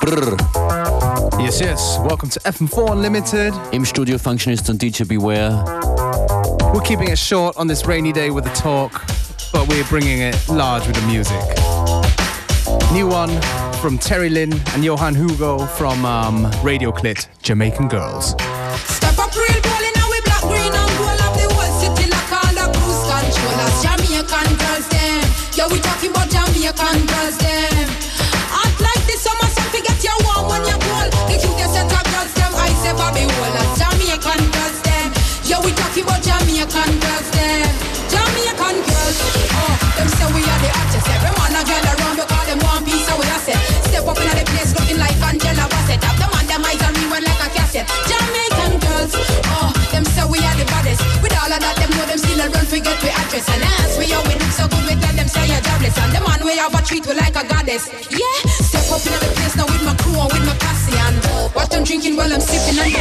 Brr. Yes, yes. Welcome to FM4 Unlimited. Im Studio Functionist und DJ Beware. We're keeping it short on this rainy day with the talk, but we're bringing it large with the music. New one from Terry Lynn and Johan Hugo from Radio Clit, Jamaican Girls. Step up real bowling now we black, green and gold up the whole city like all the cruise controllers. Jamaican girls them. Yeah, we talking about Jamaican girls them. Act like this summer sun to get you warm when you're cold. The cutest set of girls them, I say Bobby Wallace. Jamaican girls them. Yeah, we talking about Jamaican girls them. Jamaican girls, oh, them say we are the hottest. Every man a girl around because them one piece of what I said. Step up in the place looking like Angela Bassett. Have the man them eyes and rewind like a cassette. Jamaican girls, oh, them say we are the baddest. With all of that, them know them still a run forget we address. And ask we how we look so good, we tell them say you're jobless. And the man we have a treat we like a goddess. Yeah, step up in the place now with my crew and with my posse. And watch them drinking while I'm sipping and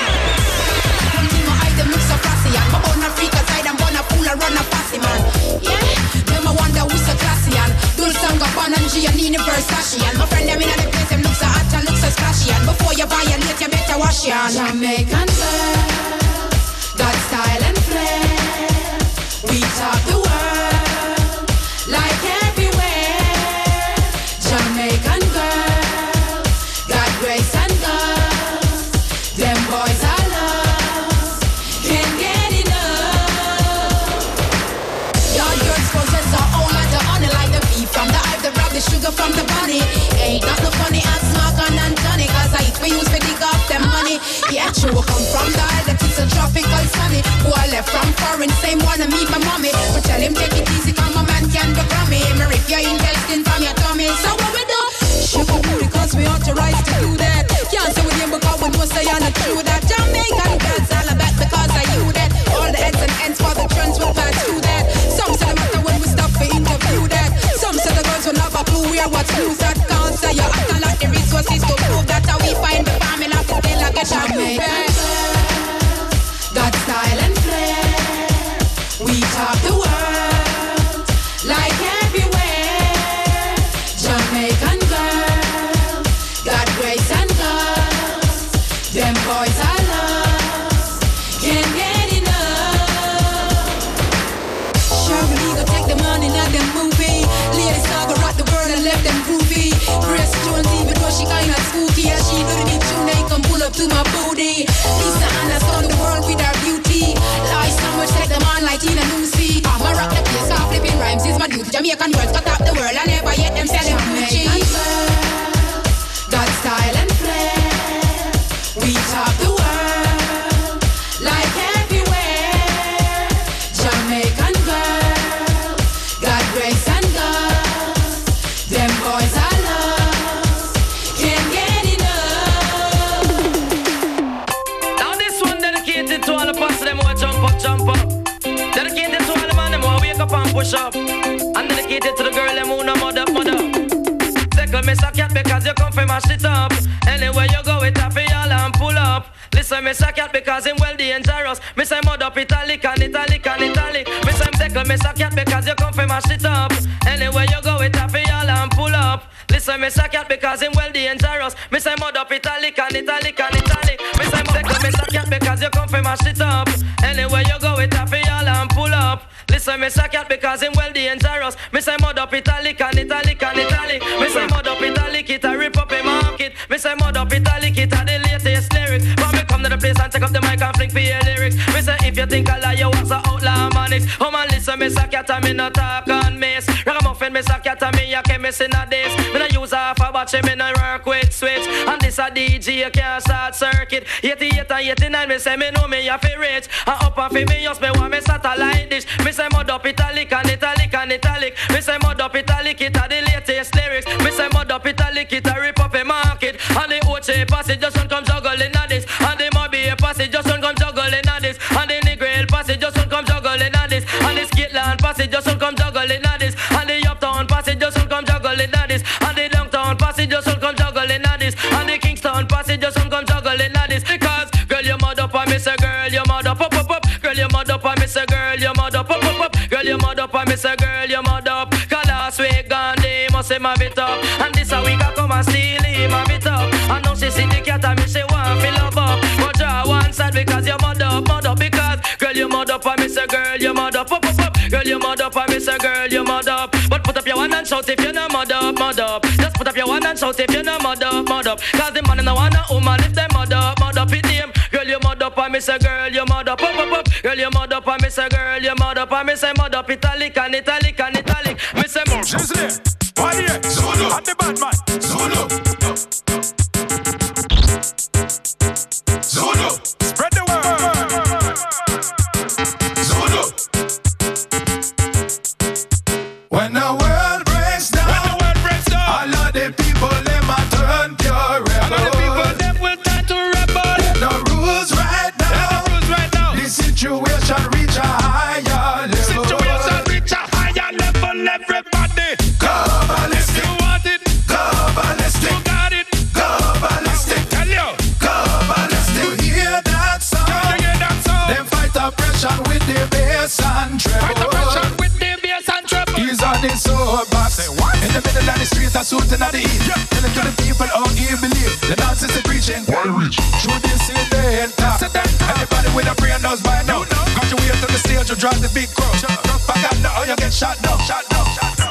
one thing my eye, them look so classy. And my own a freak aside, I'm gonna fool and run a fussy man. Yeah, them I wonder who's so classy. And Dulce Gabbana and Giannini Versace. And my friend them in the place, them look so hot and look so splashy. And before you violate, you better wash your hands. Jamaican girls, got style and flair. We top the world, like everywhere. Jamaican girls, got grace and guts. Them boys are lost, can't get enough. Y'all girls possess our own like the honey, like the beef from the hive, the rub, the sugar from the bunny. Ain't not no funny as smoke and tonic, cause I eat for use for dig up them money. Yeah, true, come from the isle that it's a tropical sunny. Who I left from foreign, same wanna meet my mommy. But tell him take it easy, cause my man can become me. Me rip your intestine from your tummy. So what we do? Sugar booty, cause we authorized to do that. Can't say with him because we know say you're not true that. Jamaican girls all about because I you that. All the heads and ends for the trends will pass through that. Some say the matter when we stop for interview that. Some say the girls will have a clue where what's news that. Can't say you acting like the resources to prove that. How we find the family of the still like a Jamaican girls, got style and flair. We top the world, like everywhere. Jamaican girls, got grace and guts. Them boys are lost, can't get enough. Sure, we go take the money, not them movie. Ladies now go rock the world and left them groovy. Grace Jones, even though she kinda spooky, and she know the need tune, they come pull up to my booty. Lisa Anna stun the world with her beauty. Lies so much take them on like Tina Lucy. I'ma rock the place, off flipping rhymes is my duty. Jamaican girls got up the world, I never yet them sell them Gucci. Got style and flair. We top the world, like everywhere. Jamaican girls, got grace and guts. Them boys are lost, can't get enough. Now this one dedicated to all the past them who jump up. Dedicated to all the man them who wake up and push up. And dedicated to the girl them who no mother. Tickle me so cat because you come from mash it up. Anywhere you go it happy all and pull up. Listen me so cat because him well dangerous. Me say mud up italic and italic and italic. Me say tickle me so cat because you come from mash it up. Anywhere you go it happy all and pull up. Listen me so cat because him well dangerous. Me say mud up italic and italic and italic. Me say tickle me so cat because you come from mash it up. Anywhere you go it happy all and pull up. Listen me so cat because him well dangerous. Me say mud up italic and italic and italic. Me say mud up italic it a rip up a market. Me say mud up italic it a the latest lyrics. But me come to the place and take up the mic and fling for your lyrics. Me say if you think I lie you was a outlaw manics. Oh man listen me so cat and me no talk and miss. Ragamuffin me so cat and me a chemist in a this. Me no use half a batch me no work with switch. And this a DJ you can't start circuit. 88 and 89 me say me know me a fi rich. And up and fi me just me want me satellite dish. Me say mud up italic and italic and italic. Me say mud up italic it a the latest lyrics. Me say mud up italic it a rip up a market. And the OJ passage just one come juggling at this. And the Mobby passage just one come juggling at this. And the Negril passage just one come juggling at this. And the Skitland passage just one come juggling at this. And the Uptown passage just one come juggling at this. And the Downtown passage just one come juggling at this. And the Kingston passage just one come juggling at this. Because girl you mud up and me say girl you mud up up up up. Girl you mud up and me say girl you mud up up up up. Girl you mud up and me say girl you mud up. Cause last week Gandhi must say my bit up. And this a week I come and steal him a bit up. say girl, you mud up, up, up, up. Girl, you mud up, I miss a girl, you mud up. But put up your one and shout if you're not mud up, mud up. Just put up your one and shout if you're not mud up, mud up. Cause the man in the one and woman if they mud up, it name. Girl, you mud up, I miss a girl, you mud up, up, up, up. Girl, you mud up, I miss a girl, you mud up, I miss a mud up, italic and italic and italic. Miss a more. She's there. Why here? Zulu. And the bad man. Zulu. Zulu. Spread the word. Zulu. When the world breaks down, all of the people them a turn pure rebel. All of the people them will turn to rebel. The rules right now. The situation reach a higher level. Everybody. Go ballistic. You want it? Go ballistic. You got it? Go ballistic. Tell you. Go ballistic. You hear that song? You hear that song? Them fight oppression with the bass and treble. Fight oppression with the bass and treble. He's on the soul box. In the middle of the street, a suit and the heat. Telling to the people how he believe. The nonsense is preaching. Why reach? Should they see the enter? Everybody with a brain knows by now. Got you way to the stage, you drive the big crowd. Back up now, you get shot down. Shot down.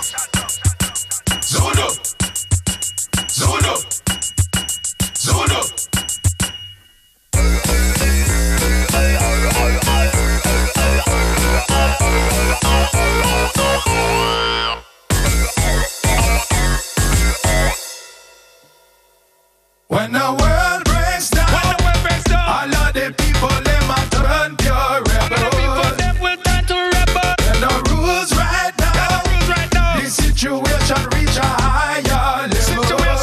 Zulu. Zulu. Zulu. When the world breaks down, all of the people them a turn pure rebel. All the people them will turn to rebel. And the rules right now, the situation reach a higher level.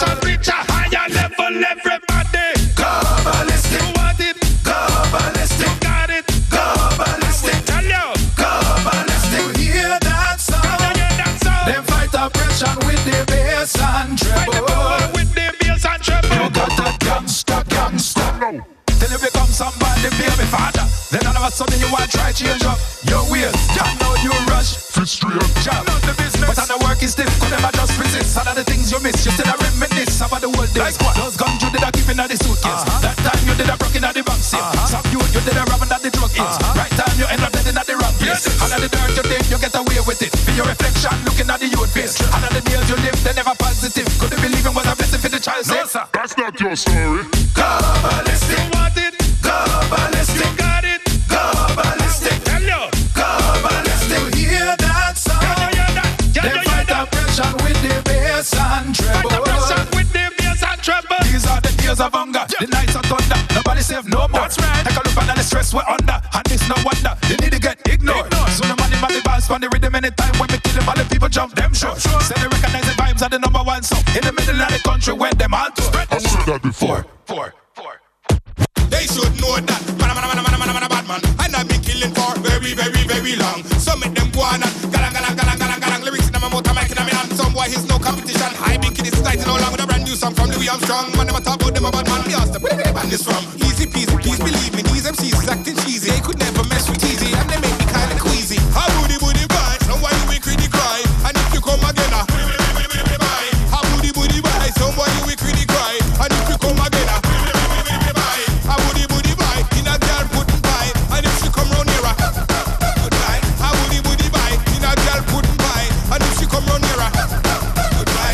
Everybody, go ballistic. You want it? Go ballistic. You got it? Go ballistic. Tell you. Go ballistic. You hear that song? Them fight oppression with the bass and treble. You got a gangsta. Till you become somebody, baby father. Then all of a sudden you want to try change up your ways. You know you rush, fit straight job. Not the business, but the work is stiff. Could never just resist. All of the things you miss, you still a reminisce about the whole day. Like what? Those guns you did a keep in the suitcase. That time you did a broken at the bank safe. Some you did a robbing at the drug case. Right time you end up dead in at the wrong place. All of the dirt you think you get away with it. For your reflection, looking at the youth face. All of the days you live, they never positive. Could you believe it was a blessing for the child? No, sir. That's not your story. Go ballistic. You want it? Go ballistic. You got it? Go ballistic. Tell you. Go ballistic. You hear that song? They fight oppression with the bass and treble. These are the days of hunger. The nights of thunder. Nobody save no more. That's right. Take a look at the stress we're under. And it's no wonder they need to get ignored. So the money man the balls on the rhythm anytime when we kill them all the people jump them short. Say they recognize the vibes are the number one song in the middle of the country when them all tour. I've said that before. They should know that man, a bad man. And I've been killing for very long. So make them go on and galang. Lyrics in my motor, mic in my hand. Some boy he's no competition. I been kidding tonight along with a brand new song from Louis Armstrong. Man, never talk about them a bad man. Me ask them where the band is from. Easy peasy, please believe me. These MCs is acting cheesy. They could never mess with Easy, and they make me kinda queasy. How booty boy, somebody we critic cry. And if you come again, how booty boy, somebody we critic cry. And if you come again, how booty boy, in a girl putting pie. And if she come round here, goodbye. How booty boy, in a girl putting pie. And if she come round here, goodbye.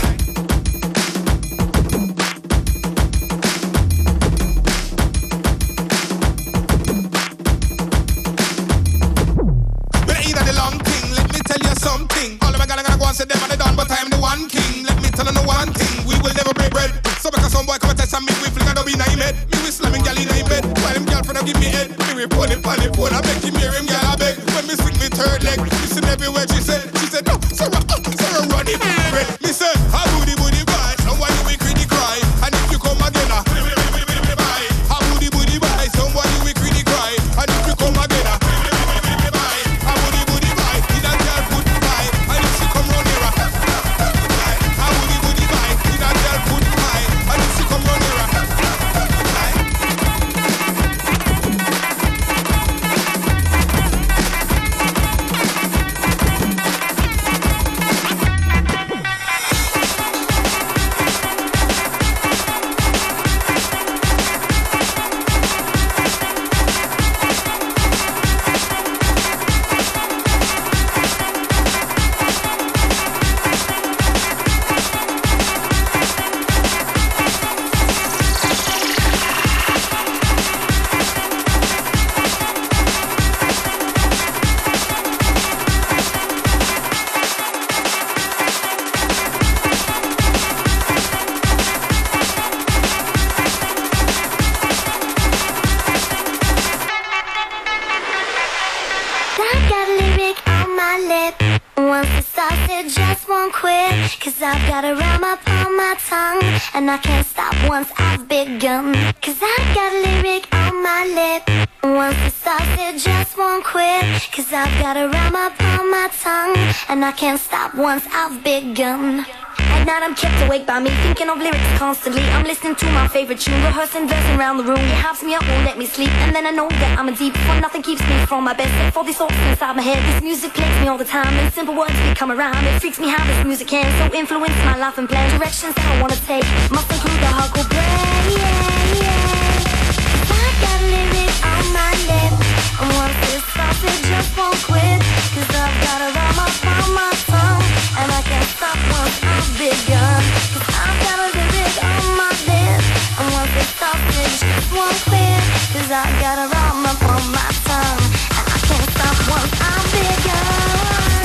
But either the long thing, let me tell you something. All of my gonna go and say them and they done, but I am the one king. Let me tell you one thing, we will never break bread. So because some boy come and test and me, we fling and don't be name head. Me we slamming gal in bed. While him girlfriend give me head. Me report him on the phone, I make him hear him gal I beg. When me stick me third leg, listen everywhere she said no, Sarah run him red. Me say, how booty boy, somebody we critic cry. And if you come again, how booty boy, somebody we critic cry. And if you come again, how booty boy, in a girl put pie. And if she come round here, how booty boy, in a girl put pie. And if she come round here, just won't quit. Cause I've got a rhyme up on my tongue, and I can't stop once I've begun. Cause I've got a lyric on my lip, and once it starts it just won't quit. Cause I've got a rhyme up on my tongue, and I can't stop once I've begun. At night I'm kept awake by me, thinking of lyrics constantly. I'm listening to my favorite tune, rehearsing, versing around the room. It hypes me up, won't let me sleep, and then I know that I'm a deep, for nothing keeps me from my best. For these thoughts inside my head, this music plays me all the time, and simple words become a rhyme. It freaks me how this music can so influence my life and plan. Directions that I wanna take must include the hardcore brain, yeah, yeah. Cause I got a lyric on my lip, and once it starts it just won't quit. Cause I've got a rhyme up on my tongue, and I can't stop once I've begun. Cause I've got a lyric on my lip, and once it stops it just won't quit. Cause I've got a rhyme up on my tongue, and I can't stop once I've begun.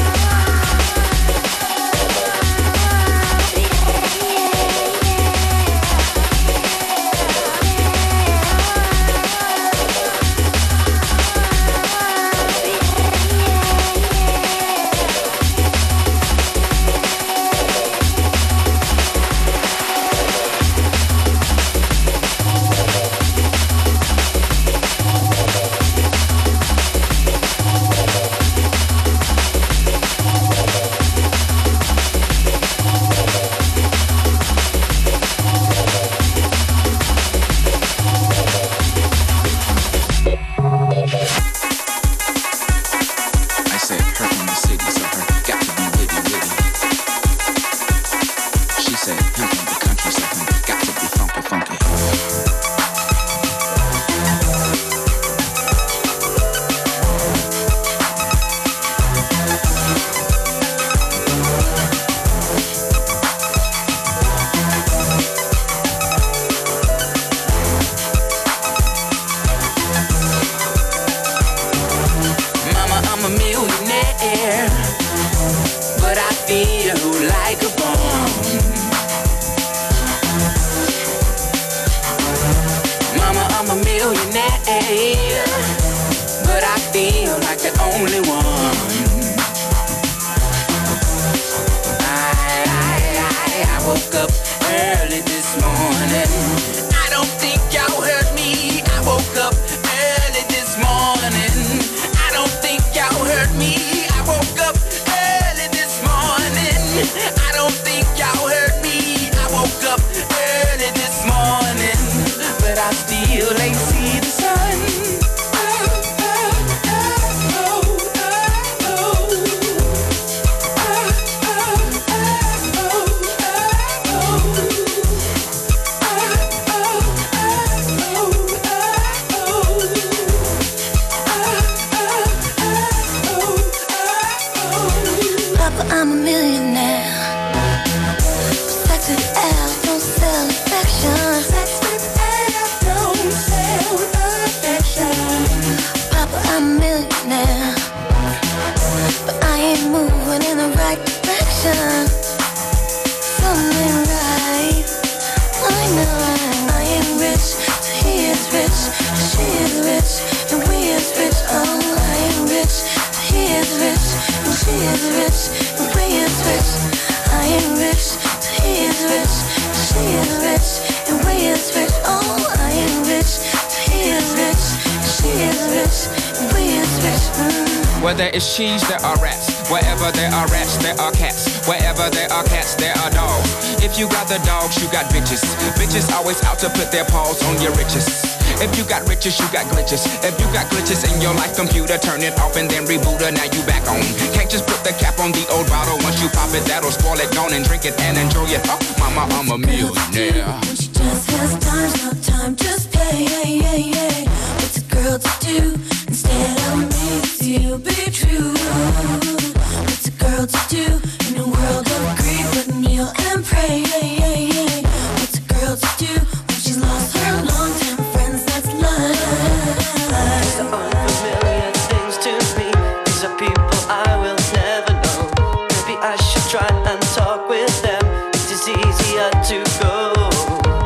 Where there is cheese, there are rats. Wherever there are rats, there are cats. Wherever there are cats, there are dogs. If you got the dogs, you got bitches. Bitches always out to put their paws on your riches. If you got riches, you got glitches. If you got glitches in your life computer, turn it off and then reboot it. Now you back on. Can't just put the cap on the old bottle. Once you pop it, that'll spoil it. Gone and drink it and enjoy it. Oh, mama, I'm a millionaire. When she just has time, no time, just play. What's a girl to do instead of me? To be true. What's a girl to do in a world of greed? But kneel and pray. What's a girl to do when she's lost her long-time friends? That's life. These are unfamiliar things to me. These are people I will never know. Maybe I should try and talk with them. It is easier to go.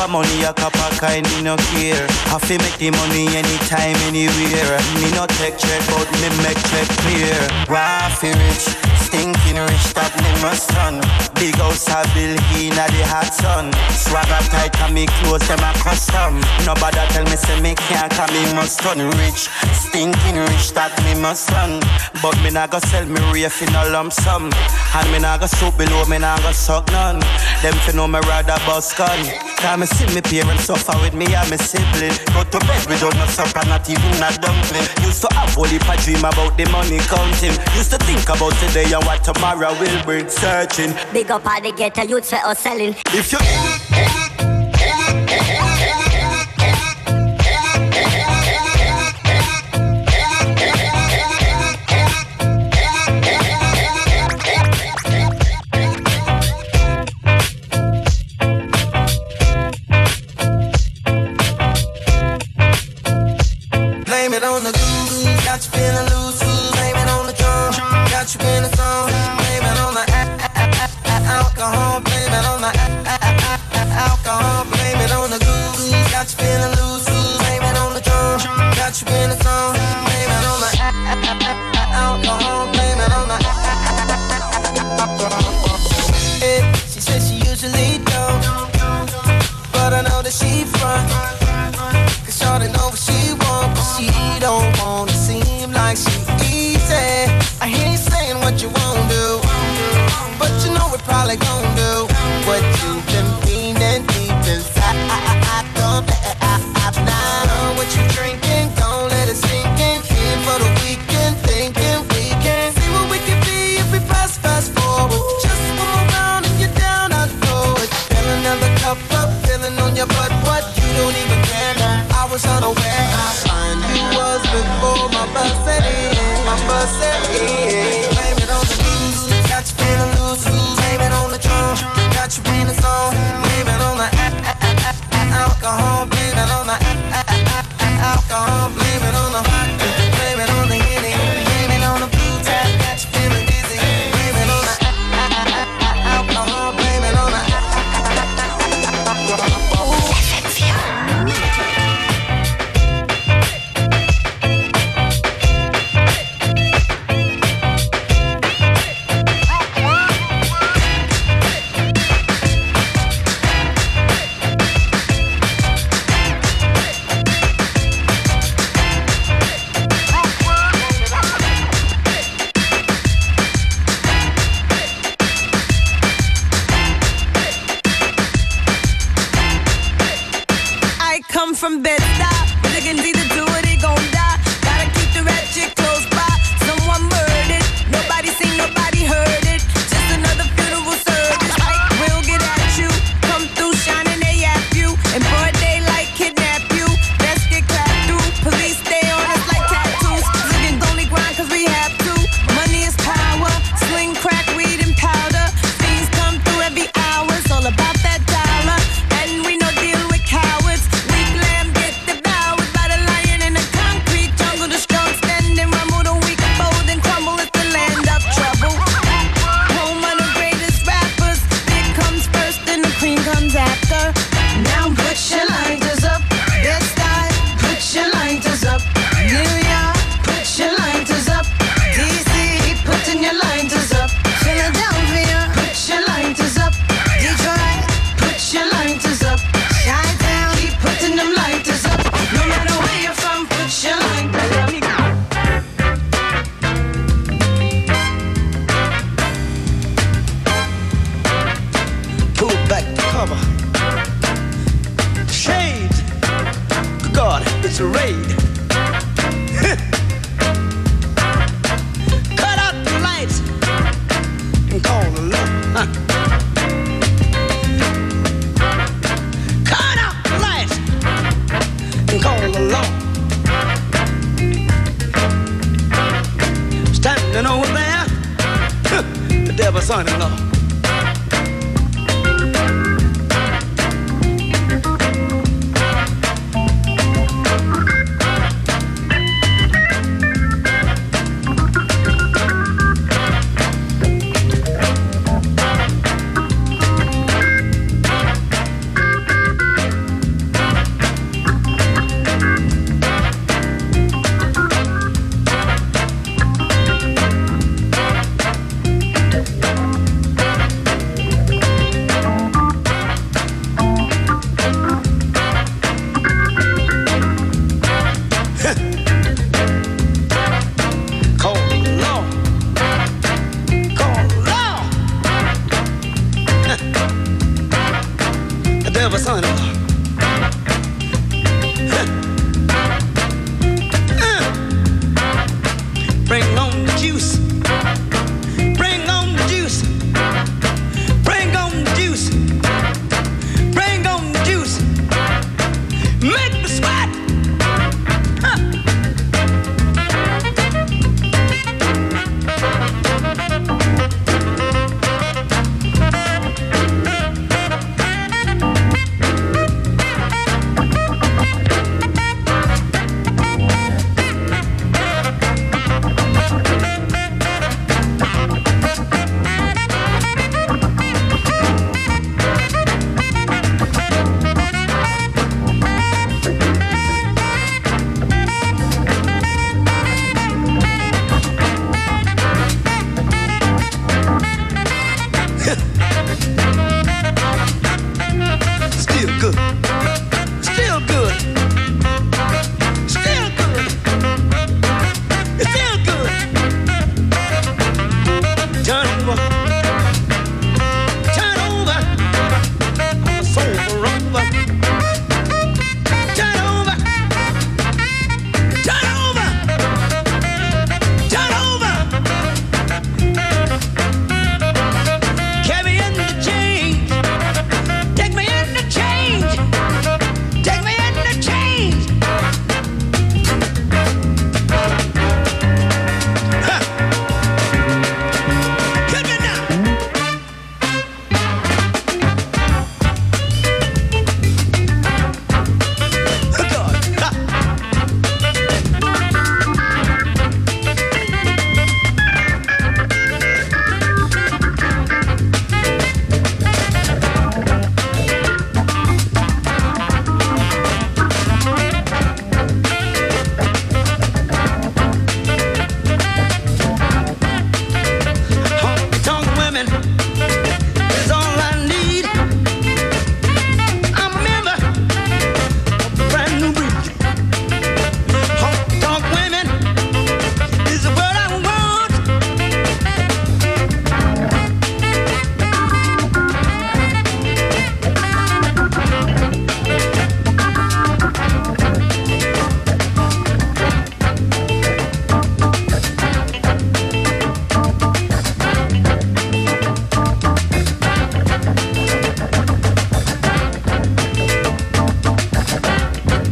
for money, a cup of kind, me no care. Have to make the money anytime, anywhere. Me no take check, but me make check clear. Waffy rich, stinking rich, that me must run. Big house a bill in a the hot sun. Swagger tight and me clothes them a custom. Nobody tell me say me can't, cause me must run rich. Stinking rich, that me must run. But me nah go sell me reef in a lump sum. And me nah go soup below, me nah go suck none. Them fi know me rather bust gun. Cause me see me parents suffer with me and me sibling. Go to bed without no supper, not even a dumpling. Used to have only a dream about the money counting. Used to think about today and what tomorrow will bring. Searching. Big up all the ghetto youths for us selling. If you blame it on the goose, got you feeling loose. Blame it on the drum, got you in the song. Blame it on the alcohol. Blame it on the alcohol. Blame it on the goose, got you feeling loose. Blame it on the drum, got you in the song. Blame it on the alcohol. Blame it on the alcohol. She says she usually don't, but I know that she front. Cause shorty know what she want, but she don't wanna seem like she easy. I hear you saying what you won't do, but you know we're probably gon' do what you've been feeling deep inside. Don't let it now. What you drinking, don't let it sink in. Here for the weekend, thinking we can see what we can be if we fast forward. Just one more round and you're down, I know it. Fill another cup up, feeling on your butt, what you don't even care. I was unaware how fine you was before my bus set in. My bus set in. Blame it on the blues, got you feeling loose. Blame it on the drum, got you in the song. Blame it on the alcohol. Blame it on the alcohol. Blame it on the blame it on the Henny. Blame it on the blue tap, got you feeling dizzy. Blame it on the alcohol. Blame it on the from Bed-Stuy. They can either do it, they gon' die. Gotta keep the ratchet close by. Someone murdered, nobody seen, nobody heard it. Just another funeral service. Like, we'll get at you. Come through shining, they at you. And broad daylight kidnap you. Best get clapped through. Police stay on us like tattoos. Niggas only grind cause we have to. Money is power. Sling, crack, weed, and powder. Things come through every hour. It's all about that dollar. And we no deal with cowards. Son-in-law.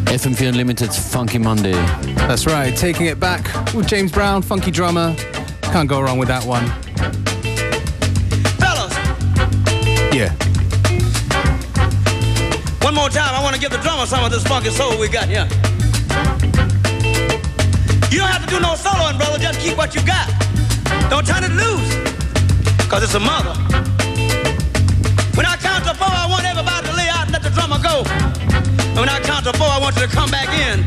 FM4 Unlimited Funky Monday. That's right, taking it back with James Brown, funky drummer. Can't go wrong with that one. Fellas! Yeah. One more time, I want to give the drummer some of this funky soul we got here. You don't have to do no soloing, brother, just keep what you got. Don't turn it loose, because it's a mother. When I count to 4, I want everybody to lay out and let the drummer go. And when I count to 4, I want you to come back in.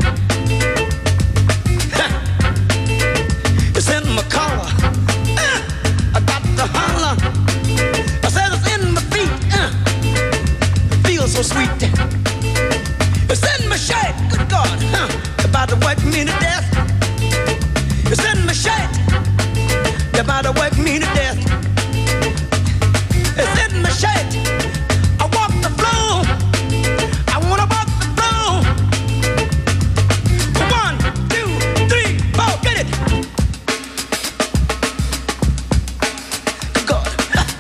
It's in my collar. I got to holler. I said it's in my feet. Feels so sweet. It's in my shape. Good God. About to work me to death. It's in my shape. About to work me to death. It's in my shape. I walk the floor. I wanna walk the floor. 1, 2, 3, 4, get it. God.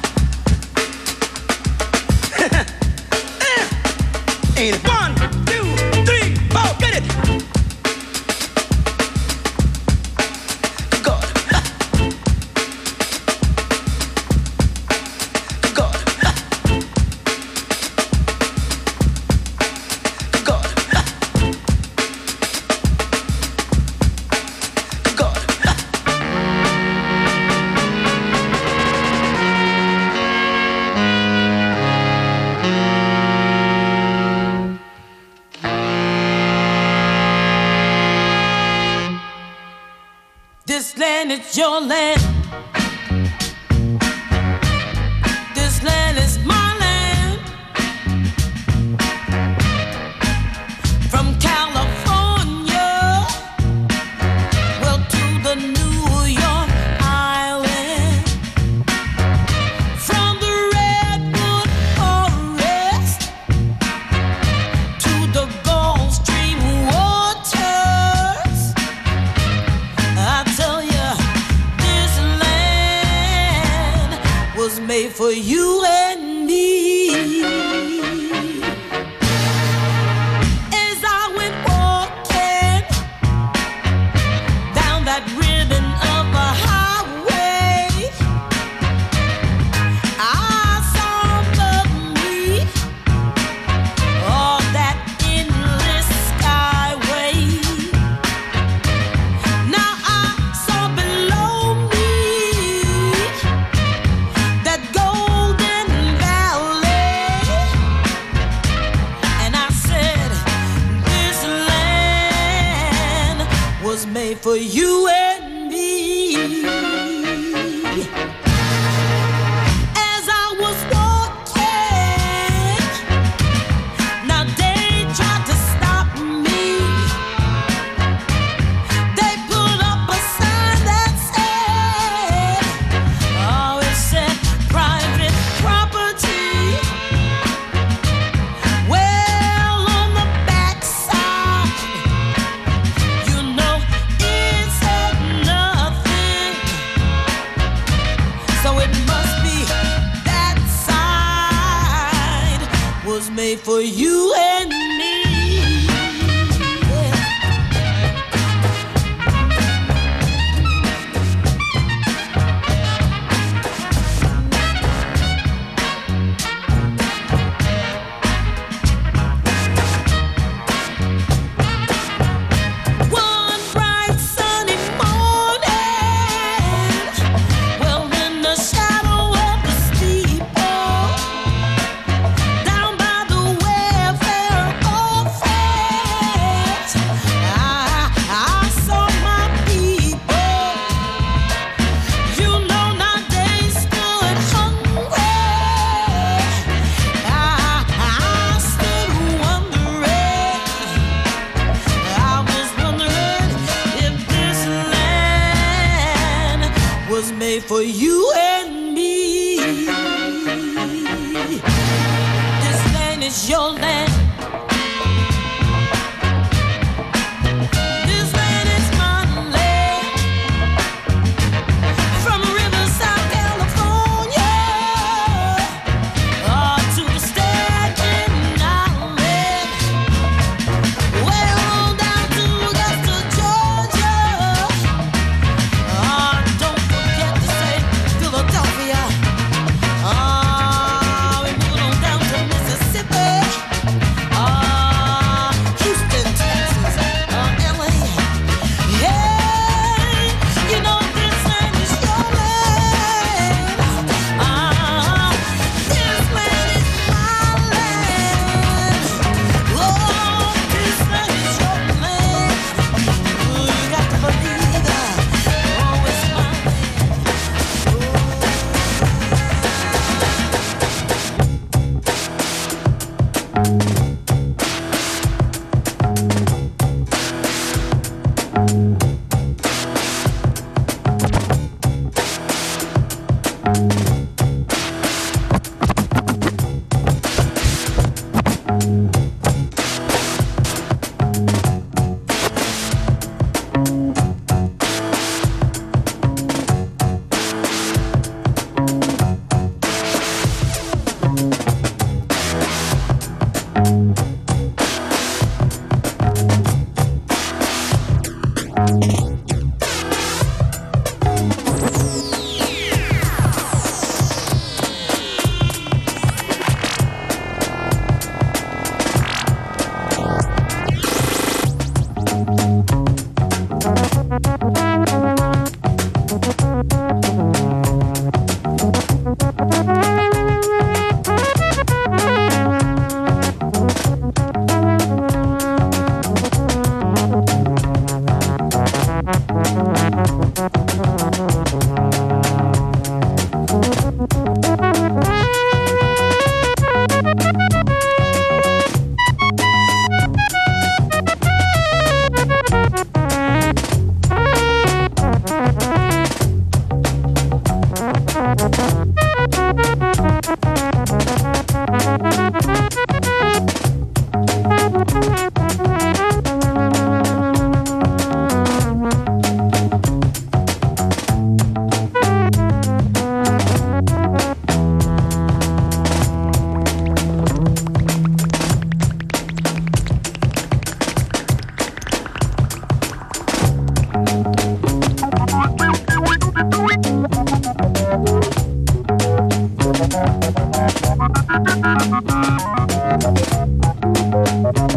Ain't it? 1, 2, 3, 4, get it. God. God. God. God. This land is your land. This land is my land. From California, well, to the New York Island. From the Redwood Forest to the Gulf Stream waters. I tell you, this land was made for you and me. As I went walking down that ribbon of a highway, I saw above me all that endless skyway. Now I saw below me that golden valley, and I said, this land was made for you and me. As I was walking, now they tried to stop me. They put up a sign that said, oh, it said private property. Well, on the backside, you know, it said nothing. So it must be that side was made for you and me. One bright sunny morning, well, in the shadow of the steeple, down by the welfare office, I saw my people. You know, now they stood hungry. I stood wondering. I was wondering if this land was made for you and me. This land is your land. This land is my land. From Riverside, California, to the Staten Island. Well,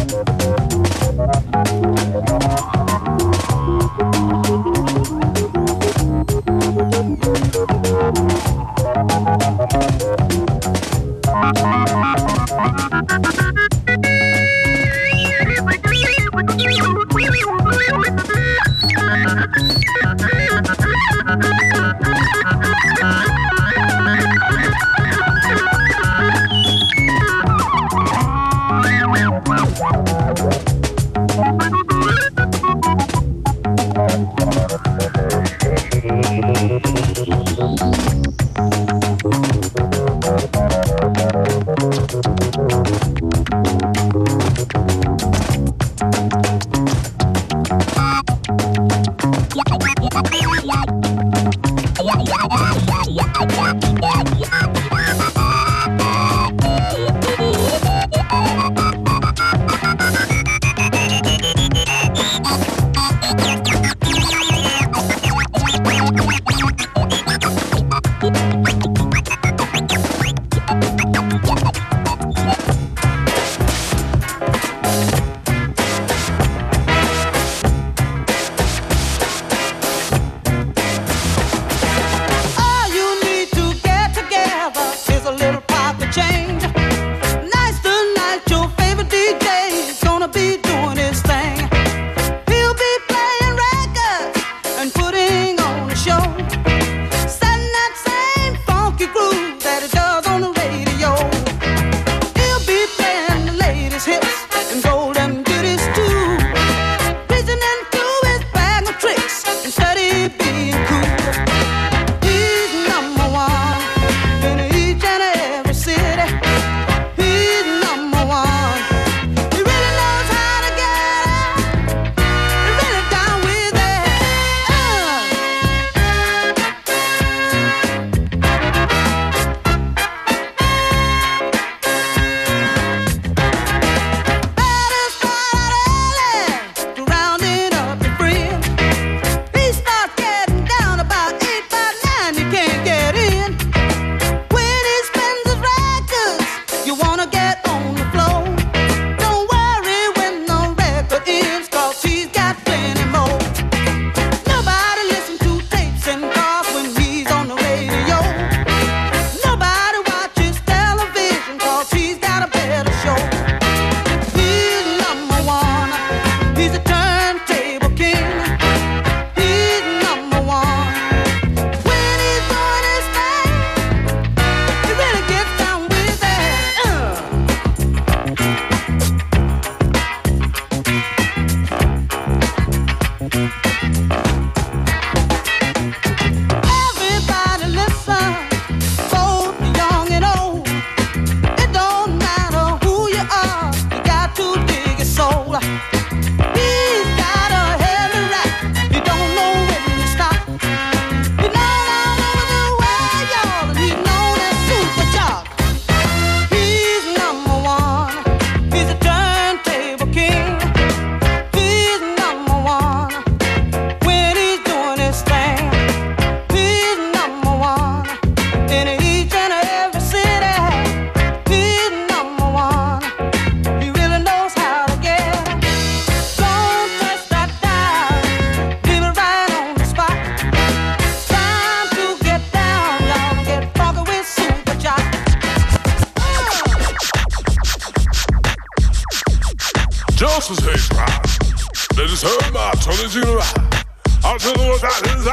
Just as hate ride. Let us hear my turn to ride. I'll tell you what that is.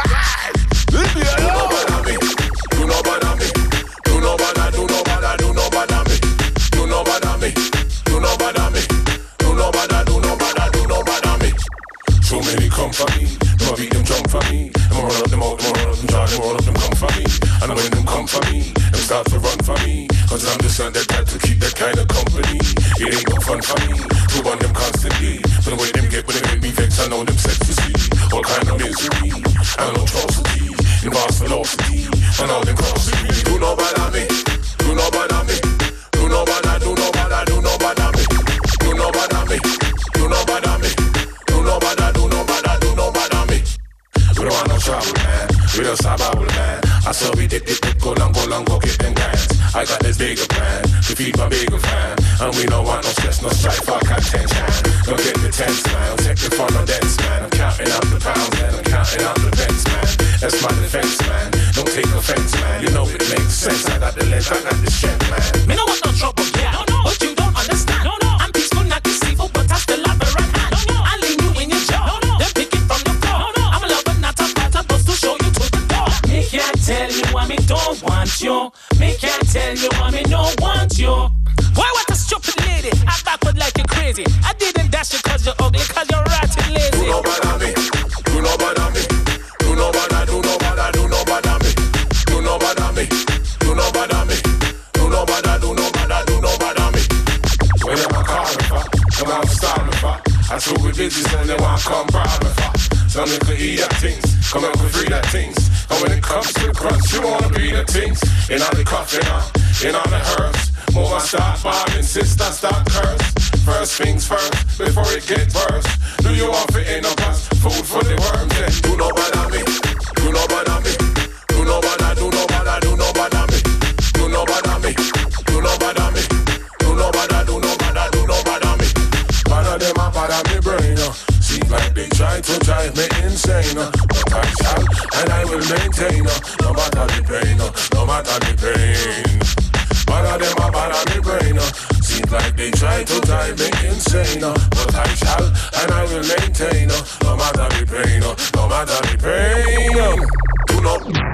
If you know about me, you know about me. You know about do know about do know about me. You know about me. You know about me. You know about do know about do know about me. So many come for me. I'ma beat them jump for me. I'ma run up them out, I'ma run up them try, them run up them come for me. And when them come for me, them start to run for me. Cause I'm the son that got to keep that kind of company. It ain't no fun for me to run them constantly. But the way them get when they make me vex, I know them set to see. All kind of misery, and no atrocity, involves velocity, and all them crossing me. Do know about me, do know about me, do know about do know about do know about me, do know about me, do know about me, do know about do know about do know about me. We don't want no trouble, man. We don't stop our man. I saw we dip, go long, go get them guys. I got this bigger plan to feed my bigger fan. And we don't want no stress, no strife, I can't attention. Don't get the tense, man. I'll take it from a dance, man. I'm counting out the pounds and I'm counting out the pence, man. That's my defense, man. Don't take offense, man. You know it makes sense. I got the length, I got the strength, man. Me no want no trouble, yeah. But you don't understand. I'm peaceful, not deceitful, but I still have the right hand. I leave you in your jaw. Then pick it from the floor. I'm a lover, not a fighter, but to show you to the door. Me can't tell you why me don't want you. Me can't tell you why me don't want you. Why what a stupid lady? I backward like you crazy. I didn't dash you cause you're ugly, cause you're rotten lazy. Do no bother me. Do no bother me. Do no bother, do no bother, do no bother me. Do no bother me. Do no bother me. Do no bother, do no bother, do no bother me. When them a call me for, come on start me for. I took with business and they want to come bribe me for. Some me could eat that things, come on could free that things. And when it comes to the crunch, you wanna be the things. In all the coffee now, in all the herbs. More I start bombing, sister start curse. First things first, before it gets worse. Do you want fit in a bus? Food for the worms, then do no bother me. Do no bother me. Do no bother, do no bother, do no bother me. Do no bother me. Do no bother me. Do no bother, do no bother, do no bother me. Bother them a bother me brain. Seem like they try to drive me insane. But I shall and I will maintain. No matter the pain, no matter the pain. Bother them a bother me brain. Seems like they try to drive me insane. But I shall and I will maintain. No matter the pain, no matter the pain. Do not.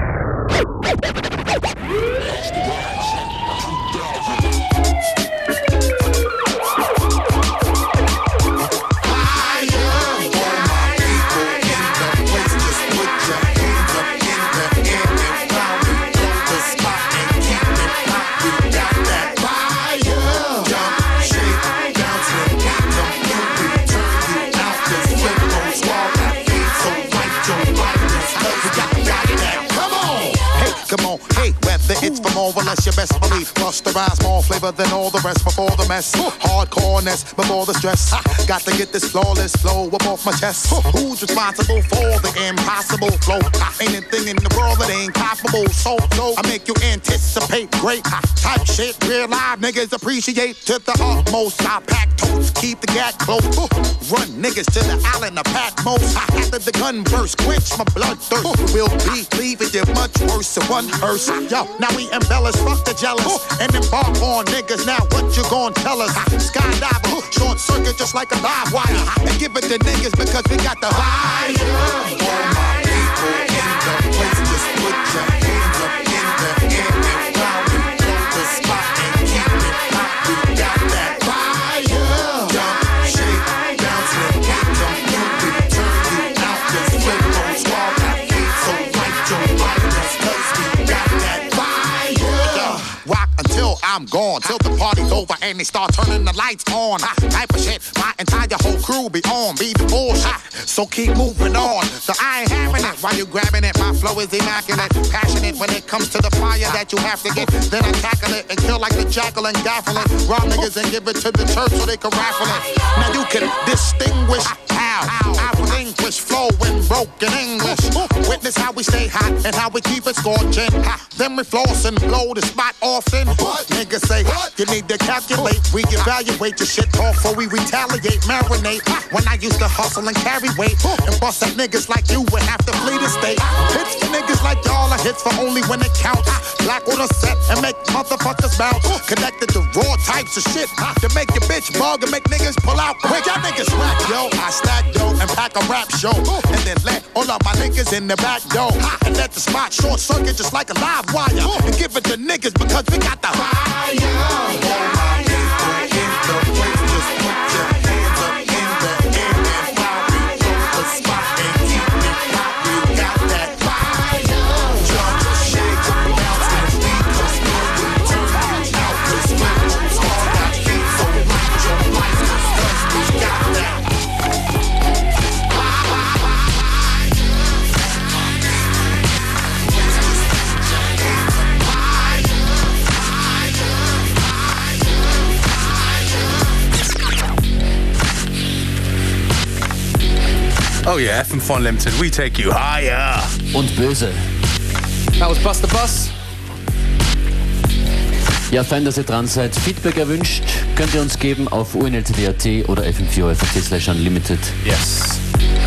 It's for more or less your best belief. Rusterize more flavor than all the rest before the mess. Hardcoreness before the stress. Got to get this flawless flow up off my chest. Who's responsible for the impossible flow? Ain't anything in the world that ain't comparable. So I make you anticipate great type shit. Real live niggas appreciate to the utmost. I pack totes, keep the gat close. Run niggas to the island of Patmos. After the gun burst, quench my blood thirst. We'll be leaving you much worse than one hearse. Yo, now we embellish, fuck the jealous, and embark on niggas. Now what you gon' tell us? Skydiver, short circuit just like a live wire, and give it to niggas because we got the fire. All my people in the place, just put your hands up in the air and round and blow the spot and keep it hot. We got that fire. Jump, shake, bounce, and get them moving. Turn you out, just flip on swallow that heat. So light your lightness, cause we got that fire. Rock until I'm gone, till the party's over and they start turning the lights on. Type of shit, my entire whole crew be on, be the bullshit. So keep moving on. So I ain't having it while you grabbing it. My flow is immaculate, passionate when it comes to the fire that you have to get. Then I tackle it and kill like the jackal and gaffle it. Rob niggas and give it to the church so they can raffle it. Now you can distinguish how I relinquish flow in broken English. Witness how we stay hot and how we keep it scorching. Then we floss and blow the spot often. Niggas say you need to calculate. We evaluate your shit talk before we retaliate, marinate. When I used to hustle and carry weight and bust up niggas like you would have to flee the state. Hits for niggas like y'all are hits for only when it counts. Black on a set and make motherfuckers bounce. Connected to raw types of shit to make your bitch bug and make niggas pull out quick. Y'all niggas rap, yo. I stack dough and pack a rap show. And then let all of my niggas in the back door. And let the spot short circuit just like a live wire. And give it to niggas because we got the fire. All my people in the place, just put your hands up in the air and while we blow the spot and keep it hot, we got that fire. Jump, shake, bounce, and beat us good. We turn you out, cause we're all that heat. So light your lights, cause we got that. Oh yeah, FM4 Unlimited, we take you higher. Und böse. That was Bust the Bus. Ja, fein, dass ihr dran seid. Feedback erwünscht, könnt ihr uns geben auf unltd.at oder fm4.at/unlimited. Yes.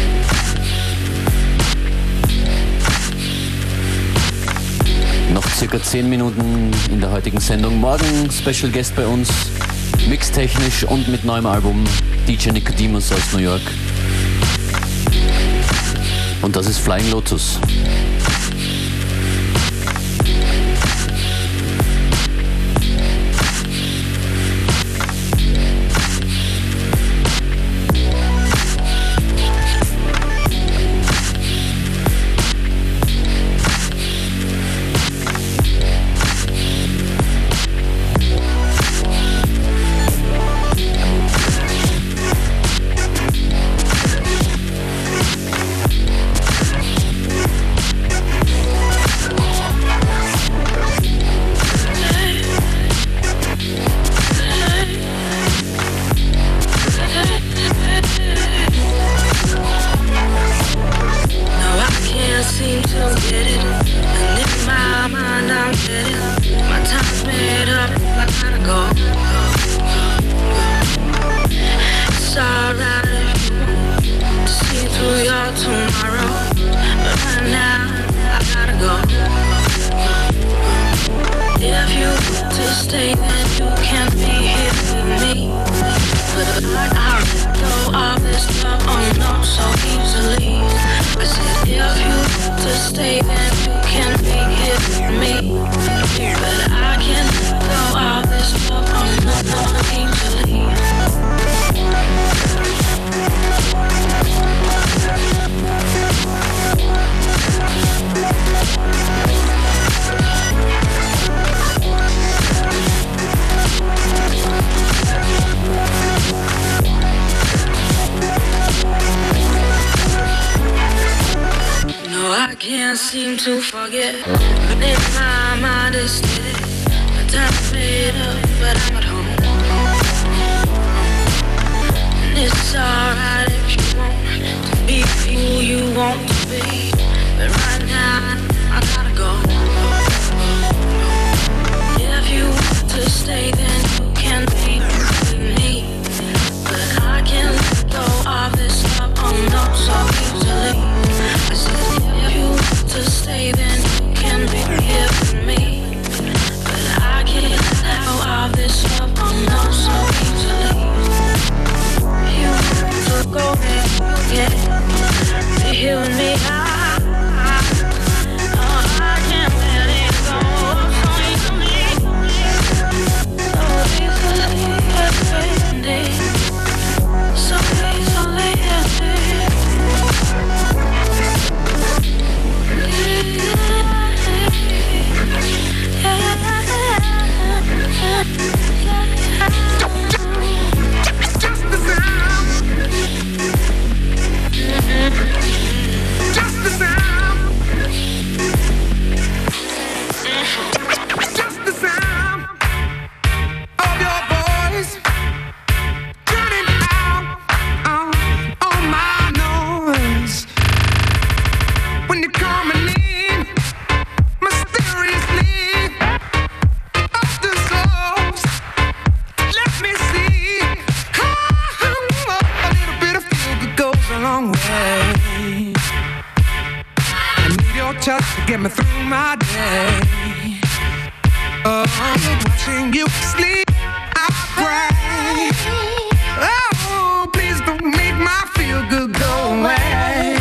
Noch circa 10 Minuten in der heutigen Sendung. Morgen Special Guest bei uns, mixtechnisch und mit neuem Album, DJ Nicodemus aus New York. Und das ist Flying Lotus. Seem to forget, but in my mind it's steady. The time's made up, but I'm at home. And it's alright if you want to be who you want to be, but right now I gotta go. If you want to stay, then you can be with me, but I can't let go of this love, oh no, so easily. I said if you to stay, then you can be here with me, but I can't let go of this love, oh no, so easily. You want to go, then you can be here with me. I can't let it go so easily, so easily. Touch to get me through my day. Oh, watching you sleep, I pray. Oh, please don't make my feel good go away.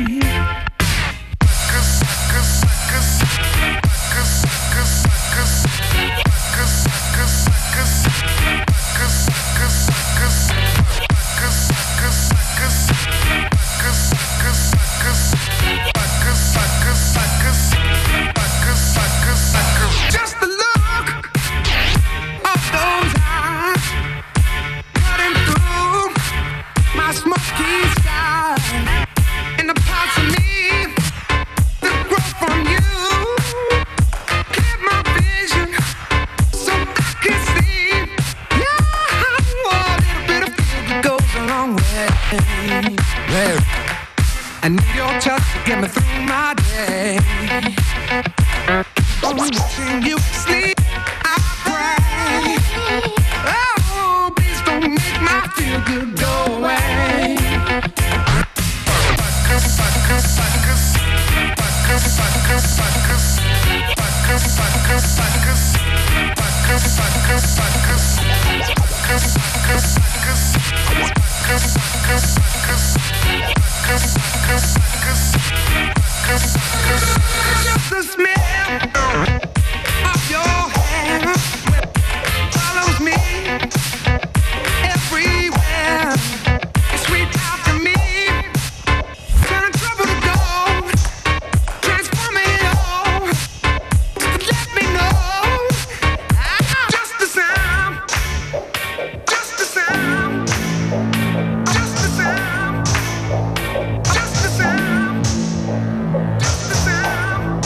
Just the look of those eyes cutting through my smoky sky, and the parts of me that grow from you clear my vision so I can see. Yeah, a little bit of feel goes a long way. I need your touch to get me through my day. Oh, watching you sleep, I pray. Oh, please don't make my feel good go away. Just the smell of your hair follows me everywhere. It's sweet after me. Turn trouble to gold, transform it all. Let me know. Just the sound, just the sound, just the sound, just the sound, just the sound.